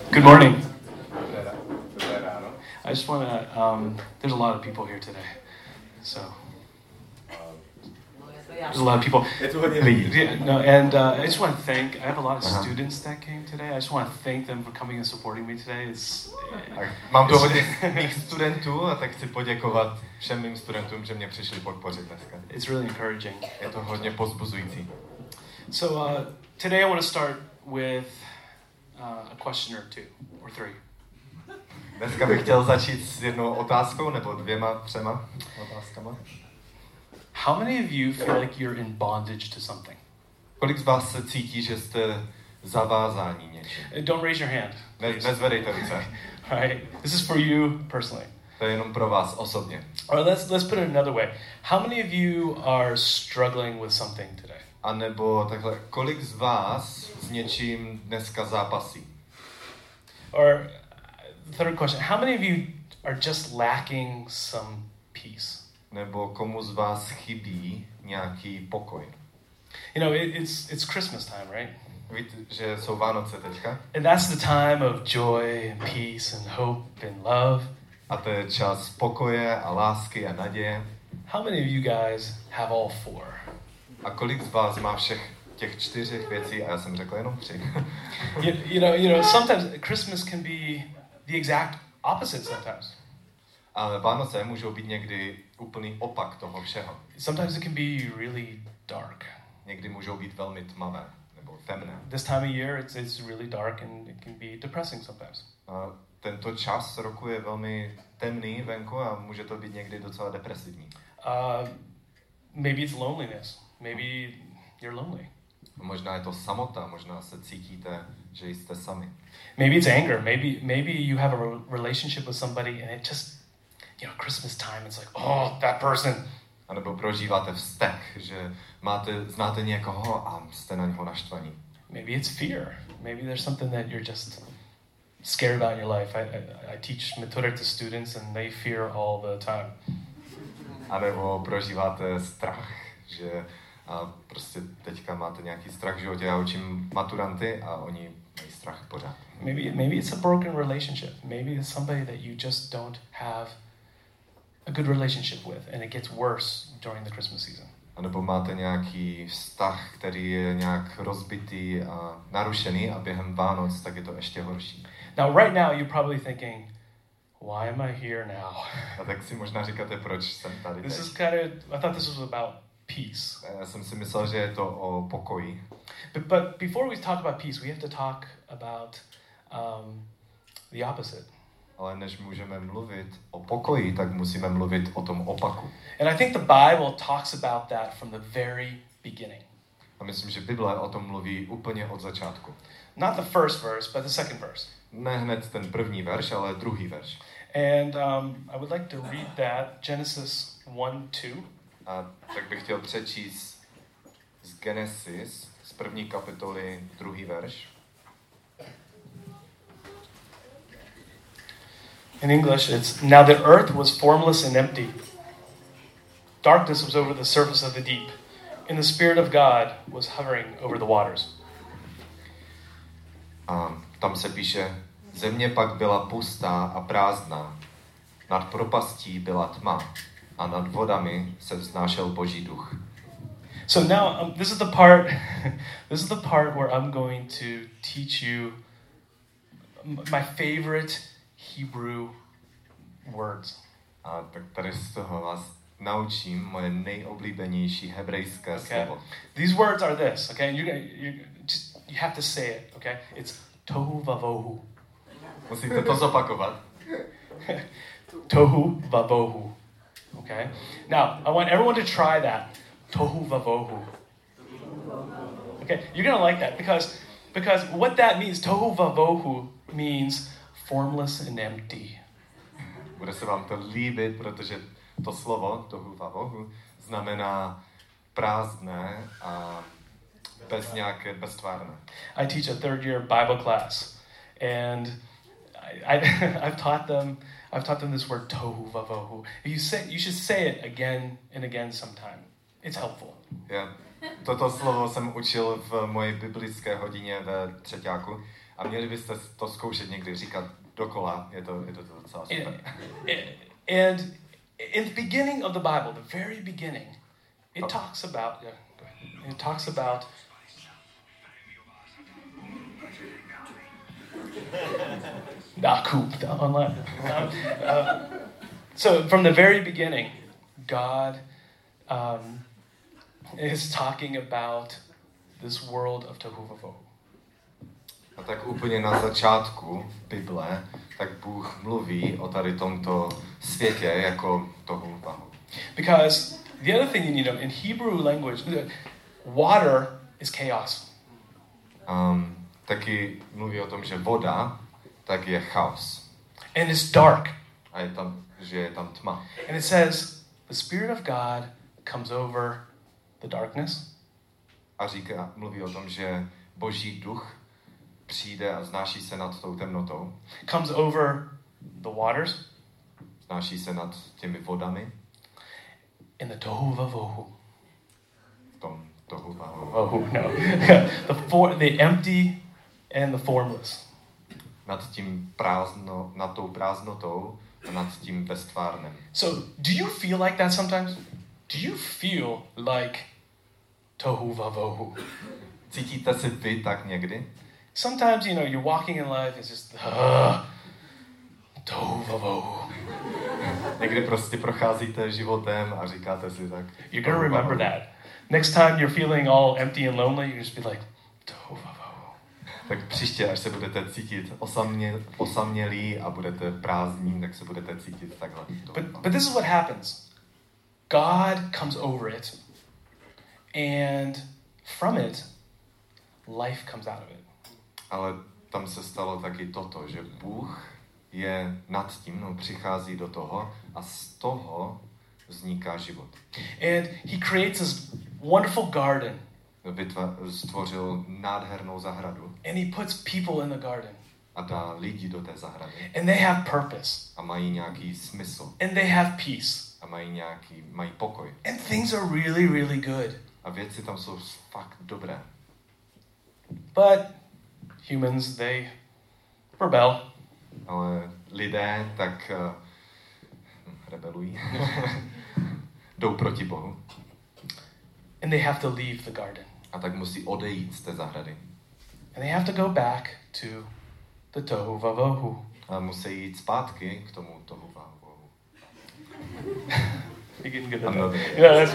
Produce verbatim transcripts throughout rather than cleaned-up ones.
Good morning. I just want to, um, there's a lot of people here today, so. There's a lot of people. Yeah, no, and uh, I just want to thank, I have a lot of uh-huh. students that came today. I just want to thank them for coming and supporting me today. It's, Mám tu hodně mých studentů a tak chci poděkovat všem mým studentům, že mě přišli podpořit dneska. It's really encouraging. Je to hodně povzbuzující. So uh, today I want to start with uh, a question or two or three. Dneska bych chtěl začít s jednou otázkou nebo dvěma, třema otázkama. How many of you feel like you're in bondage to something? Kolik z vás se cítí, že jste zavázáni něčím? Don't raise your hand. Ne, nezvedejte ruce. Right. This is for you personally. To je jenom pro vás osobně. Or let's let's put it another way. How many of you are struggling with something today? A nebo takhle, kolik z vás s něčím dneska zápasí? Or third question, how many of you are just lacking some peace? Nebo komu z vás chybí nějaký pokoj? You know, it, it's it's Christmas time, right? Víte, že jsou Vánoce teďka? And that's the time of joy and peace and hope and love. A to je čas pokoje a lásky a naděje. How many of you guys have all four? A kolik z vás má všech těch čtyřech věcí? A já jsem řekl jenom tři. you, you know, you know, sometimes Christmas can be the exact opposite sometimes. Ale Vánoce můžou být někdy úplný opak toho všeho. Sometimes it can be really dark. Někdy můžou být velmi tmavé nebo temné. This time of year it's it's really dark and it can be depressing sometimes. A tento čas roku je velmi temný venku a může to být někdy docela depresivní. Uh, maybe it's loneliness. Maybe you're lonely. Možná je to samota, možná se cítíte, že jste sami. Maybe it's anger. Maybe maybe you have a relationship with somebody and it just, you know, Christmas time, it's like, oh, that person. A nebo prožíváte vztek, že máte, znáte někoho a jste na něho naštvaní. Maybe it's fear. Maybe there's something that you're just scared about in your life. I, I, I teach methodik to students and they fear all the time. A nebo prožíváte strach, že a prostě teďka máte nějaký strach v životě. Já učím maturanty a oni mají strach pořád. Maybe, maybe it's a broken relationship. Maybe it's somebody that you just don't have a good relationship with and it gets worse during the Christmas season. A nebo máte nějaký vztah, který je nějak rozbitý a narušený a během Vánoc tak je to ještě horší. Now right now you're probably thinking, why am I here now? A tak si možná říkáte, proč jsem tady This teď. is kind of, I thought this was about peace. Já jsem si myslel, že je to o pokoji. But, but before we talk about peace, we have to talk about um, the opposite. Ale než můžeme mluvit o pokoji, tak musíme mluvit o tom opaku. And I think the Bible talks about that from the very beginning. A myslím, že Bible o tom mluví úplně od začátku. Not the first verse, but the second verse. Ne hned ten první verš, ale druhý verš. And um, I would like to read that, Genesis one two. A tak bych chtěl přečíst z Genesis, z první kapitoly, druhý verš. In English, it's, now the earth was formless and empty. Darkness was over the surface of the deep, and the Spirit of God was hovering over the waters. A tam se píše, země pak byla pustá a prázdná, nad propastí byla tma a nad vodami se vznášel Boží duch. So now, um, this is the part, this is the part where I'm going to teach you my favorite Hebrew words. A tak tady z toho vás naučím moje nejoblíbenější hebrejské okay. slovo. These words are this, okay? And you're gonna, you just you have to say it, okay? It's tohu vavohu. Musíte to zopakovat. Tohu vavohu. Okay? Now, I want everyone to try that. Tohu vavohu. Okay? You're going to like that because because what that means, tohu vavohu means formless and empty. Bude se vám to líbit, protože to slovo, tohu vavohu, znamená prázdné a bez nějaké, beztvárné. I teach a third year Bible class and I, I, I've taught them I've taught them this word tohu vavohu. You say you should say it again and again sometime. It's helpful. Yeah. Toto slovo jsem učil v mojí biblické hodině ve třeťáku A měli byste to zkoušet někdy říkat dokola, je to, je to docela super. And, and in the beginning of the Bible, the very beginning, it talks about, yeah, it talks about Nakup online. Um, uh, so from the very beginning, God um, is talking about this world of tohu vavohu. A tak úplně na začátku Bible, tak Bůh mluví o tady tomto světě jako tohu vahu. Because the other thing you need to know, in Hebrew language, water is chaos. Um, taky mluví o tom, že voda tak je chaos. And it's dark. A je tam, že je tam tma. And it says, the Spirit of God comes over the darkness. A říká, mluví o tom, že Boží duch přijde a znáší se nad tou temnotou. Comes over the waters. Znáší se nad těmi vodami. In the tohu vavohu. V tom tohu vahu. Oh, no. the, for, the empty and the formless. Nad tím prázdno, nad tou prázdnotou a nad tím beztvárnem. So, do you feel like that sometimes? Do you feel like tohu vavohu? Cítíte se vy tak někdy? Sometimes, you know, you're walking in life, it's just, uh, tohu vavohu. Někdy prostě procházíte životem a říkáte si tak. You're going to remember that. Next time you're feeling all empty and lonely, you just be like, tohu vavohu. Tak příště, až se budete cítit osamě, osamělí a budete prázdní, tak se budete cítit takhle. But, but this is what happens. God comes over it, and from it, life comes out of it. Ale tam se stalo taky toto, že Bůh je nad tím, no, přichází do toho a z toho vzniká život. And he creates this wonderful garden. Vytva, stvořil nádhernou zahradu. And he puts people in the garden. A dá lidi do té zahrady. And they have purpose. A mají nějaký smysl. And they have peace. A mají nějaký, mají pokoj. And things are really, really good. A věci tam jsou fakt dobré. But humans, they rebel. Ale lidé tak uh, rebelují. Jdou proti Bohu. And they have to leave the garden. A tak musí odejít z té zahrady. And they have to go back to the tohu vavohu. A musí jít zpátky k tomu tohu vavohu. You're getting good at I'm not that. good. Yeah, that's...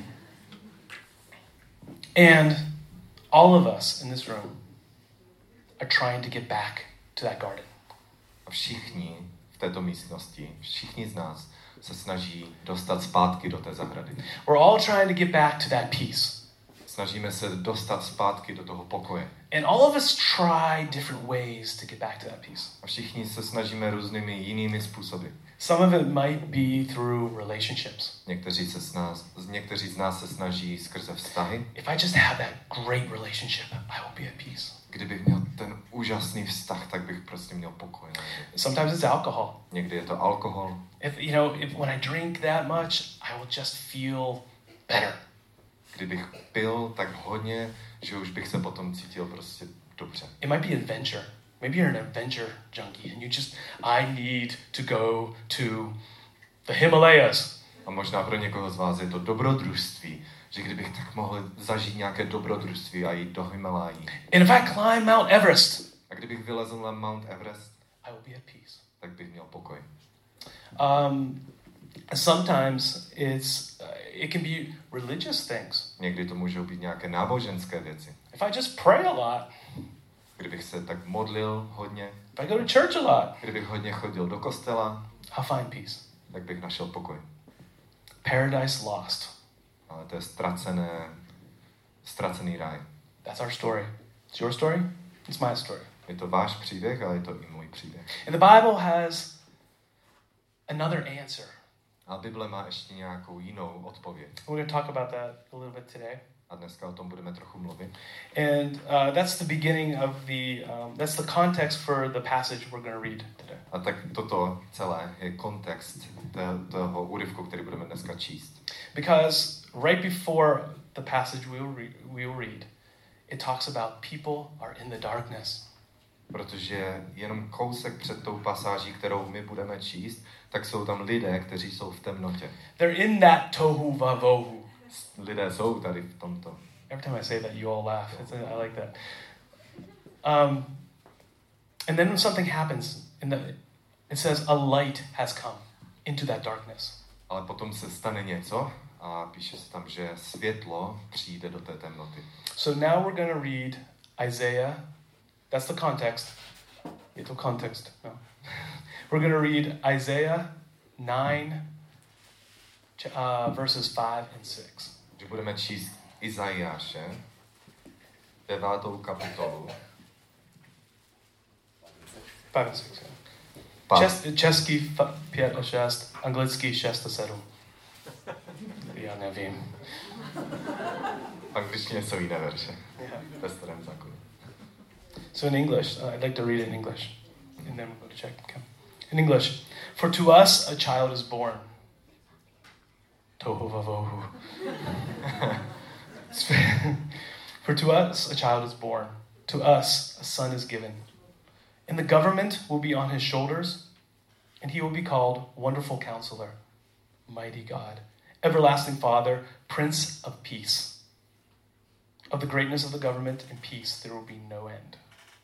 And all of us in this room are trying to get back to that garden. A všichni v této místnosti, všichni z nás se snaží dostat zpátky do té zahrady. We're all trying to get back to that peace. Snažíme se dostat zpátky do toho pokoje. And all of us try different ways to get back to that peace. A všichni se snažíme různými jinými způsoby. Some of it might be through relationships. Někteří, se s nás, někteří z nás se snaží skrze vztahy. If I just have that great relationship, I will be at peace. Kdybych měl ten úžasný vztah, tak bych prostě měl pokoj. Sometimes it's alcohol. Někdy je to alkohol. If you know, if when I drink that much, I will just feel better. Kdybych pil tak hodně, že už bych se potom cítil prostě dobře. It might be adventure. Maybe you're an adventure junkie and you just, I need to go to the Himalayas. A možná pro někoho z vás je to dobrodružství, že kdybych tak mohl zažít nějaké dobrodružství a jít do Himalají. And if I climb Mount Everest, A kdybych vylezl na Mount Everest, I will be at peace. tak bych měl pokoj. Um, sometimes it's uh, it can be religious things. Někdy to můžou být nějaké náboženské věci. If I just pray a lot, Kdybych se tak modlil hodně, if I go to church a lot, kdybych hodně chodil do kostela, I'll find peace. tak bych našel pokoj. Paradise lost. Ale to je ztracené, ztracený ráj. That's our story. It's your story. It's my story. Je to váš příběh, ale je to i můj příběh. And the Bible has another answer. A Bible má ještě nějakou jinou odpověď. We're going to talk about that a little bit today. A dneska o tom budeme trochu mluvit. And uh, that's the beginning of the, um, that's the context for the passage we're going to read today. A tak toto celé je kontext toho úryvku, který budeme dneska číst. Because right before the passage we will, re- we will read, it talks about people are in the darkness. Protože jenom kousek před tou pasáží, kterou my budeme číst, tak jsou tam lidé, kteří jsou v temnotě. They're in that tohu vavohu. Lidé jsou tady v tomto. Every time I say that, you all laugh. It's, I like that. Um, and then when something happens, in the, it says a light has come into that darkness. Ale potom se stane něco a píše se tam, že světlo přijde do té temnoty. So now we're going to read Isaiah. That's the context. Je to context. No. We're going to read Isaiah nine, uh, verses five and six. Že budeme číst Izajáše, devátou kapitolu. Five and six. Yeah. Pa- Čes, český pět a šest, anglický šest a sedm. Já nevím. V angličtině jsou jiné verše. Yeah. Ve starém zákonu. So in English, uh, I'd like to read it in English, and then we'll go to check. Okay. In English, for to us a child is born. Tohu vavohu. For to us a child is born. To us a son is given. And the government will be on his shoulders, and he will be called Wonderful Counselor, Mighty God, Everlasting Father, Prince of Peace. Of the greatness of the government and peace there will be no end.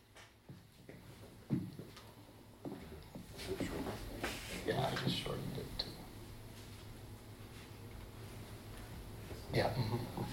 Yeah, I just shortened it too. Yeah. Mm-hmm.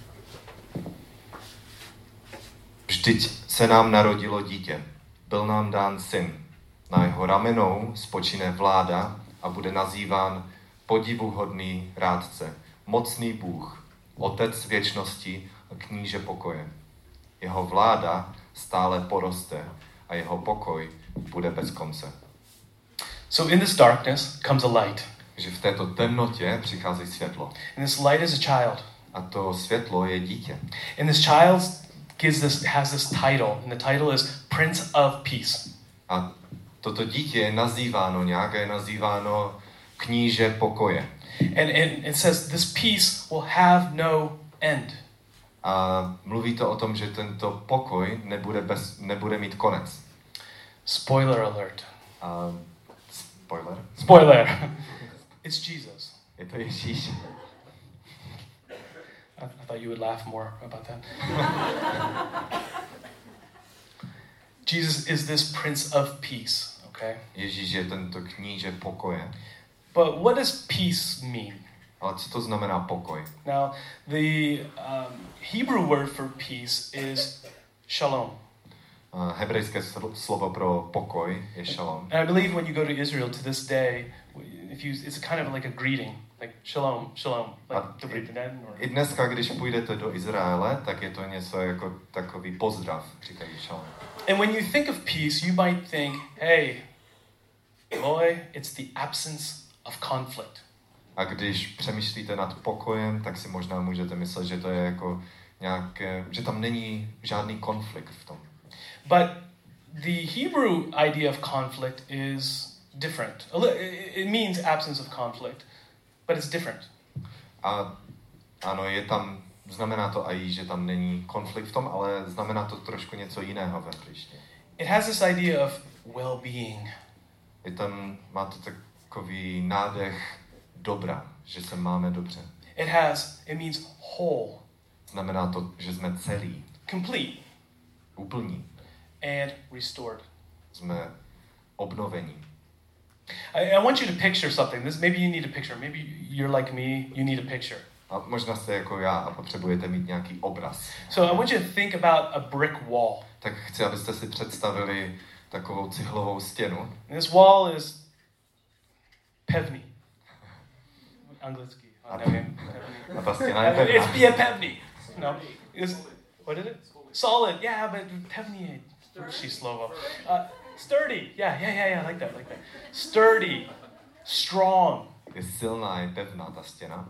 Vždyť se nám narodilo dítě, byl nám dán syn. Na jeho ramenou spočine vláda a bude nazýván podivuhodný rádce, mocný Bůh, otec věčnosti a kníže pokoje. Jeho vláda stále poroste a jeho pokoj bude bez konce. So in this darkness comes a light. Že v této temnotě přichází světlo. And this light is a child. A to světlo je dítě. And this child gives this has this title, and the title is Prince of Peace. A toto dítě je nazýváno nějak, je nazýváno kníže pokoje. And, and it says this peace will have no end. A mluví to o tom, že tento pokoj nebude, bez, nebude mít konec. Spoiler alert. A spoiler? Spoiler. It's Jesus. Je to Ježíš. I, I thought you would laugh more about that. Jesus is this Prince of Peace, okay? Ježíš je tento kníže pokoje. But what does peace mean? Ale co to znamená pokoj? Now, the um, Hebrew word for peace is shalom. Uh, hebrejské slovo pro pokoj je shalom. And I believe when you go to Israel to this day, if you, it's kind of like a greeting, like shalom, shalom, like dobrý den. Or... I dneska, když půjdete do Izraele, tak je to něco jako takový pozdrav, říkají shalom. And when you think of peace, you might think, hey, boy, it's the absence of conflict. A když přemýšlíte nad pokojem, tak si možná můžete myslet, že to je jako nějaké, že tam není žádný konflikt v tom. But the Hebrew idea of conflict is different. It means absence of conflict, but it's different. A ano, je tam, znamená to i, že tam není konflikt v tom, ale znamená to trošku něco jiného ve hebrejštině. It has this idea of well-being. Je tam, má to takový nádech dobra, že se máme dobře. It has, it means whole. Znamená to, že jsme celí. Complete. Úplní. And restored. Jsme obnovení. I, I want you to picture something. This maybe you need a picture. Maybe you're like me. You need a picture. A možná jste jako já a potřebujete mít nějaký obraz. So I want you to think about a brick wall. Tak chci, abyste si představili takovou cihlovou stěnu. And this wall is pevný. Anglicky. A, nevím. a ta stěna je pevná. It's be pevný. No. It's, what is it? Solid. Yeah, but pevný. She's slow. Uh, sturdy. Yeah, yeah, yeah, yeah. Like that, like that. Sturdy. Strong. Je silná, je pevná ta stěna.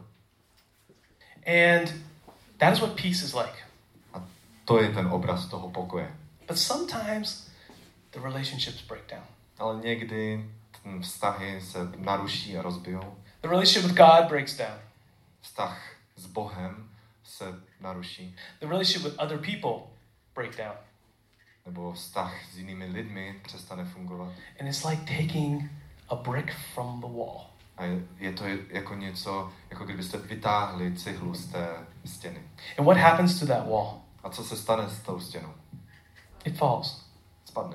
And that is what peace is like. A to je ten obraz toho pokoje. But sometimes the relationships break down. Ale někdy vztahy se naruší a rozbijou. The relationship with God breaks down. Vztah s Bohem se naruší. The relationship with other people break down. nebo vztah s jinými lidmi přestane fungovat. And it's like taking a brick from the wall. A je, je to jako něco, jako kdybyste vytáhli cihlu z té stěny. And what happens to that wall? A co se stane s tou stěnou? It falls. Spadne.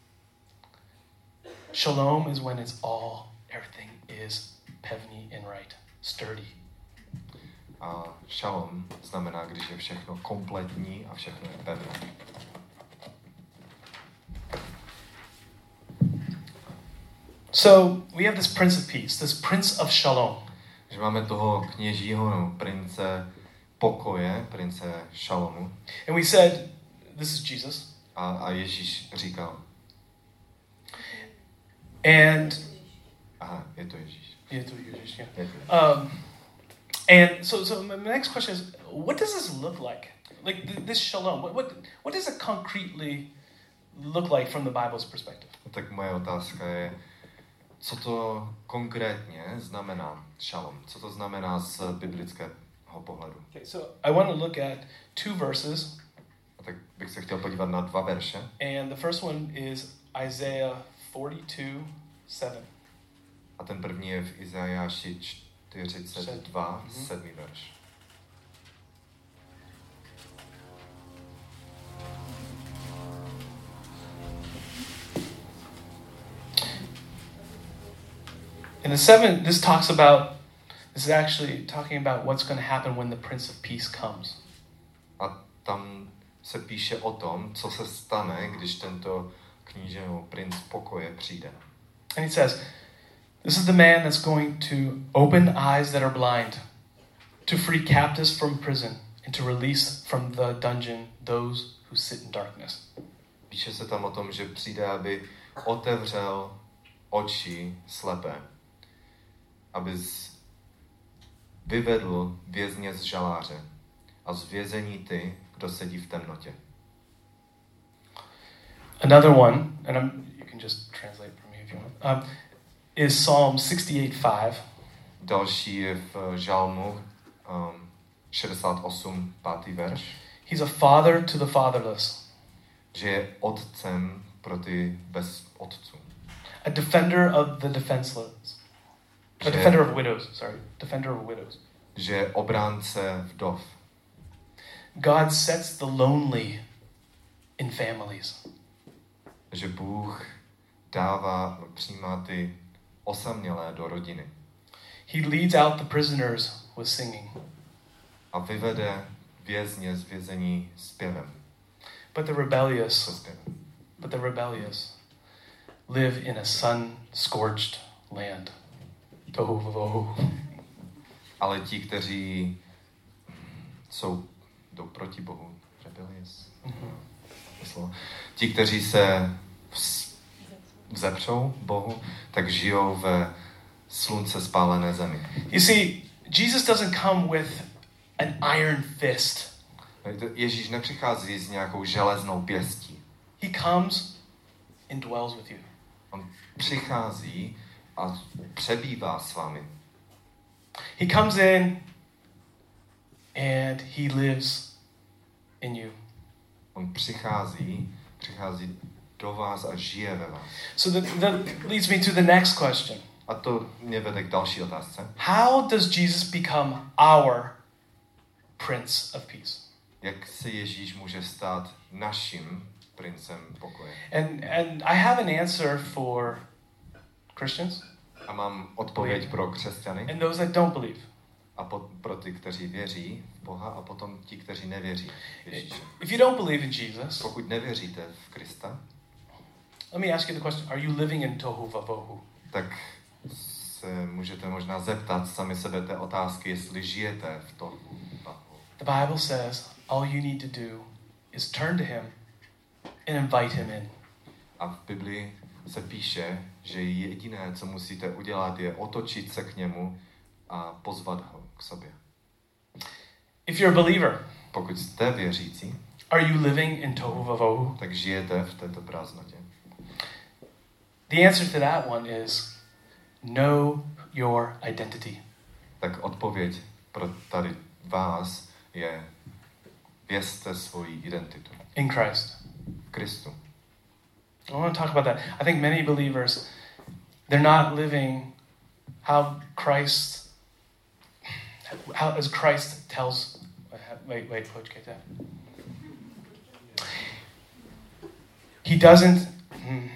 Shalom is when it's all, everything is pevný and right, sturdy. A šalom znamená, když je všechno kompletní a všechno je pevné. So we have this Prince of Peace, this Prince of Shalom. Že máme toho kněžího, no, prince pokoje, prince šalomu. And we said, this is Jesus. A, a Ježíš říkal. And Aha, je to Ježíš. je to Ježíš, yeah. Je to. Um, and so, so my next question is, what does this look like? Like th- this shalom, what, what, what does it concretely look like from the Bible's perspective? Tak moje otázka je, co to konkrétně znamená šalom? Co to znamená z biblického pohledu? Okay, so I want to look at two verses. A tak bych se chtěl podívat na dva verše. And the first one is Isaiah forty-two seven. A ten první je v Izajáši čtyřicet dva, mm-hmm. sedmý verš. In the seven, this talks about, this is actually talking about what's going to happen when the Prince of Peace comes. A tam se píše o tom, co se stane, když tento kníže nebo princ pokoje přijde. And he says, this is the man that's going to open eyes that are blind, to free captives from prison, and to release from the dungeon those who sit in darkness. Píše se tam o tom, že přijde, aby otevřel oči slepé, aby z... vyvedl vězně z žaláře a z vězení ty, kdo sedí v temnotě. Another one, and I'm, you can just translate for me if you want, um, is Psalm sixty-eight five. Další je v žalmu um, šedesát osm, pátý verš. He's a father to the fatherless. Že je otcem pro ty bez otců. A defender of the defenseless. A Že, defender of widows, sorry. Defender of widows. že je obránce vdov. God sets the lonely in families. Že Bůh dává, přijímá ty osamělé do rodiny. He leads out the prisoners with singing. A vyvede vězně z vězení zpěvem. But the rebellious, Se zpěvem. but the rebellious live in a sun-scorched land. Tohu vavohu. Ale ti, kteří jsou, jdou proti Bohu, rebellious, mm-hmm. ti, kteří se vz, vzepřou Bohu, tak žijou ve slunce spálené zemi. You see, Jesus doesn't come with an iron fist. Ježíš nepřichází s nějakou železnou pěstí. He comes and dwells with you. On přichází a přebývá s vámi. He comes in and he lives in you. On přichází, přichází do vás a žije ve vás. So that, that leads me to the next question. A to mě vede k další otázce. How does Jesus become our Prince of Peace? Jak se Ježíš může stát naším princem pokoje? And and I have an answer for Christians. A mám odpověď pro křesťany And those that don't believe. a po, pro ty, kteří věří v Boha a potom ti, kteří nevěří v Ježíše. If you don't believe in Jesus, Pokud nevěříte v Krista, let me ask you the question, are you living in tohu vavohu? tak se můžete možná zeptat sami sebe té otázky, jestli žijete v tom. The Bible says all you need to do is turn to him and invite him in. A v Biblii se píše, že jediné, co musíte udělat, je otočit se k němu a pozvat ho k sobě. If you're a believer, Pokud jste věřící, are you living in tohu vavohu? tak žijete v této prázdnotě. The answer to that one is know your identity. Tak odpověď pro tady vás je vězte svoji identitu. In Christ. V Kristu. I want to talk about that. I think many believers, they're not living how Christ, how as Christ tells. Wait, wait, počkejte. He doesn't. Hmm.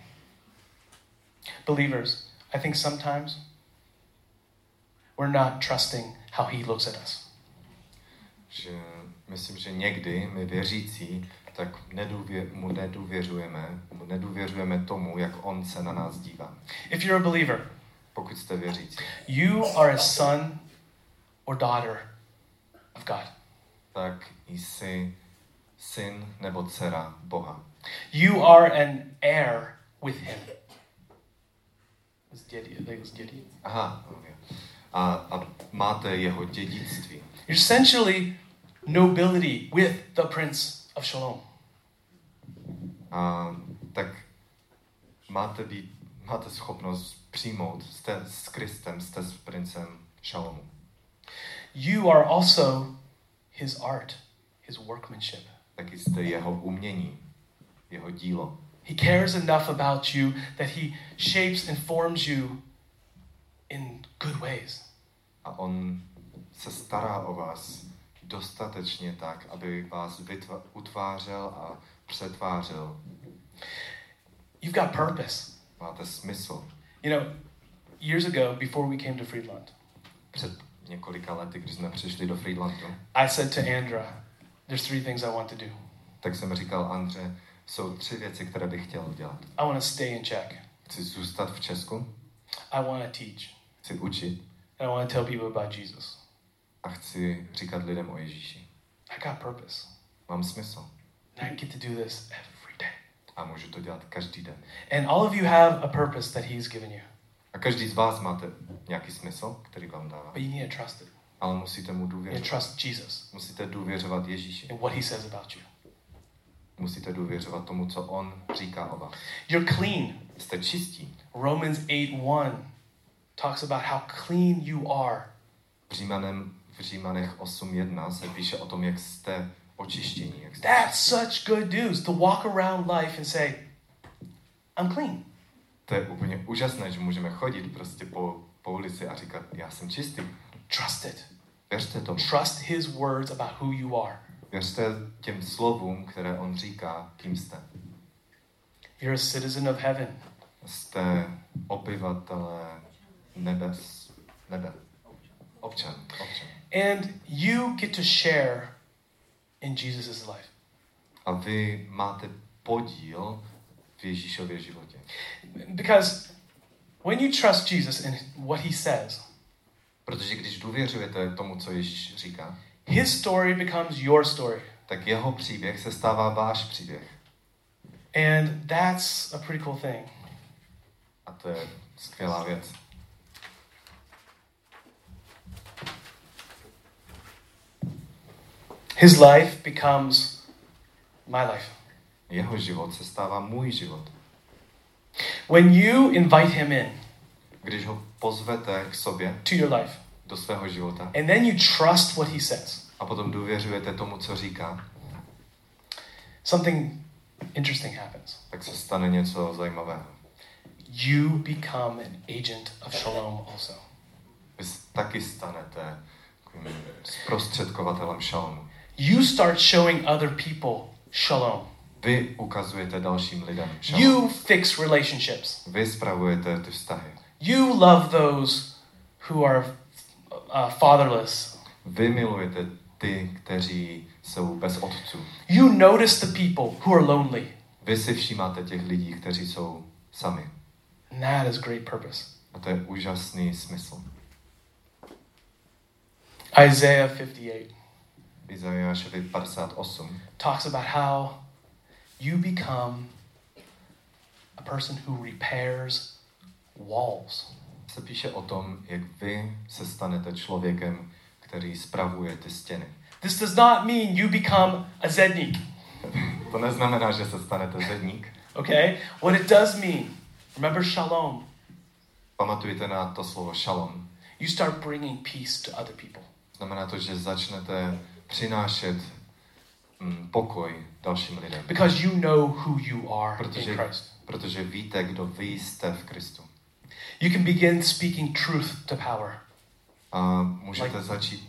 Believers, I think sometimes we're not trusting how he looks at us. Že myslím, že někdy my věřící tak nedůvě, mu nedůvěřujeme, mu nedůvěřujeme tomu, jak on se na nás dívá. If you're a believer, pokud jste věřící, you are a son or daughter of God. Tak jsi syn nebo dcera Boha. You are an heir with him. Aha, okay. a, a máte jeho dědictví. You're essentially nobility with the Prince of Shalom. A tak máte být, máte schopnost přijmout, jste s Kristem, jste s princem Šalomu. You are also his art, his workmanship. Taky jste jeho umění, jeho dílo. He cares enough about you that he shapes and forms you in good ways. A on se stará o vás dostatečně tak, aby vás vytva- utvářel a přetvářel. You've got purpose. Máte smysl. You know, years ago, before we came to Friedland, před několika lety, když jsme přišli do Friedlandu, I said to Andra, there's three things I want to do. Tak jsem říkal Andře, jsou tři věci, které bych chtěl udělat. I want to stay in Czech. Chci zůstat v Česku. I want to teach. Chci učit. And I want to tell people about Jesus. A chci říkat lidem o Ježíši. I got purpose. Mám smysl. And I get to do this every day. A můžu to dělat každý den. And all of you have a purpose that he's given you. A každý z vás máte nějaký smysl, který vám dává. But you need to trust it. Ale musíte mu You need to důvěřovat. trust Jesus Musíte důvěřovat Ježíši. and what he says about you. Musíte důvěřovat tomu, co on říká o vás. You're clean. Jste čistí. Romans eight one talks about how clean you are. V, Římanem, v Římanech osm jedna se píše o tom, jak jste očištění. Jak jste That's such good news to walk around life and say, I'm clean. To je úplně úžasné, že můžeme chodit prostě po, po ulici a říkat, já jsem čistý. Trust it. Věřte tomu. Trust his words about who you are. Věřte těm slovům, které on říká, kým jste. You're a citizen of heaven. Jste obyvatelé nebes, nebe. Občan, občan. And you get to share in Jesus' life. A vy máte podíl v Ježíšově životě. Because when you trust Jesus and what he says, Protože když důvěřujete tomu, co Ježíš říká, his story becomes your story. tak jeho příběh se stává váš příběh. And that's a pretty cool thing. A to je skvělá věc. His life becomes my life. Jeho život se stává můj život. When you invite him in Když ho pozvete k sobě, to your life, do svého života, and then you trust what he says, a potom důvěřujete tomu, co říká, something interesting happens. tak se stane něco zajímavého. You become an agent of shalom also. Vy taky stanete takovým zprostředkovatelem šalomu. You start showing other people shalom. Vy ukazujete dalším lidem šalom. You fix relationships. Vy spravujete ty vztahy. You love those who are uh, fatherless. Vy milujete ty, kteří jsou bez otců. You notice the people who are lonely. Vy si všímáte těch lidí, kteří jsou sami. And that is great purpose. A to je úžasný smysl. Isaiah fifty-eight Izajášovi padesát osm talks about how you become a person who repairs walls. se píše o tom, jak vy se stanete člověkem, který spravuje ty stěny. This does not mean you become a zednik. To neznamená, že se stanete zedník. Okay? What it does mean, remember shalom. Pamatujte na to slovo šalom. You start bringing peace to other people. Znamená to, že začnete přinášet mm, pokoj dalším lidem. Because you know who you are in Protože, Christ. protože víte, kdo vy jste v Kristu. You can begin speaking truth to power. A můžete Like- začít,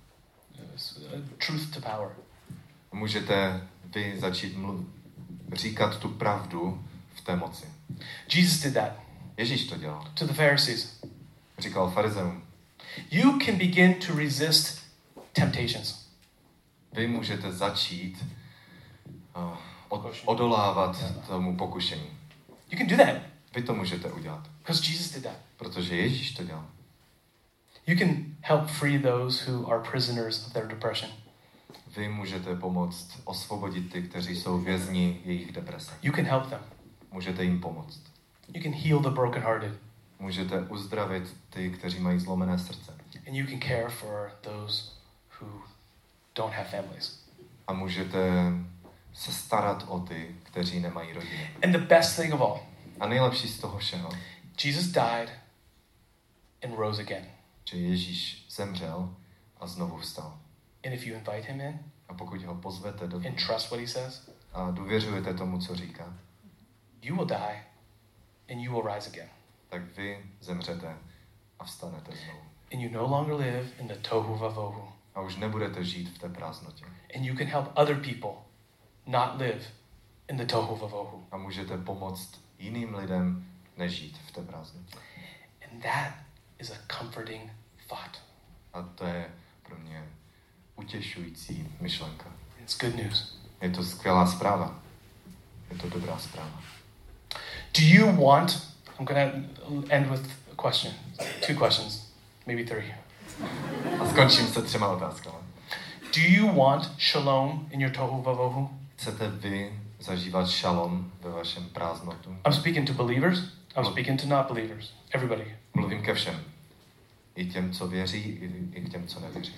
Truth to power. můžete vy začít mluv, říkat tu pravdu v té moci. Jesus did that Ježíš to dělal. to the Pharisees. Říkal farizeům, You can begin to resist temptations. vy můžete začít uh, od, odolávat tomu pokušení. You can do that Vy to můžete udělat, because Jesus did that. protože Ježíš to dělal. You can help free those who are prisoners of their depression. Vy můžete pomoct osvobodit ty, kteří jsou vězni jejich deprese. You can help them. Můžete jim pomoct. You can heal the brokenhearted. Můžete uzdravit ty, kteří mají zlomené srdce. And you can care for those who don't have families. A můžete se starat o ty, kteří nemají rodiny. And the best thing of all, A nejlepší z toho všeho, Jesus died and rose again. že Ježíš zemřel a znovu vstal. And if you invite him in A pokud ho pozvete do and trust what he says, a důvěřujete tomu, co říká, you will die and you will rise again. tak vy zemřete a vstanete znovu. And you no longer live in the tohu vavohu. A už nebudete žít v té prázdnotě. And you can help other people not live in the tohu vavohu. A můžete pomoct jiným lidem nežít v té prázdnotě. And that is a comforting thought. A to je pro mě utěšující myšlenka. It's good news. Je to skvělá zpráva. Je to dobrá zpráva. Do you want, I'm going to end with a question, two questions, maybe three. A skončím se třema otázkami. Do you want shalom in your tohu vavohu? Chcete vy zažívat šalom ve vašem prázdnotu? I'm speaking to believers. I'm speaking to not believers. Everybody. Mluvím ke všem. I těm, co věří, i, i k těm, co nevěří.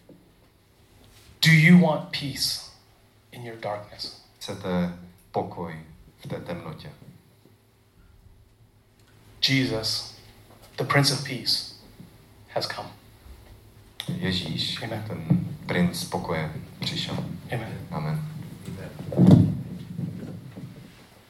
Do you want peace in your darkness? Chcete pokoj v té temnotě? Jesus, the Prince of Peace, has come. Ježíš, Amen. ten princ pokoje, přišel. Amen. Amen.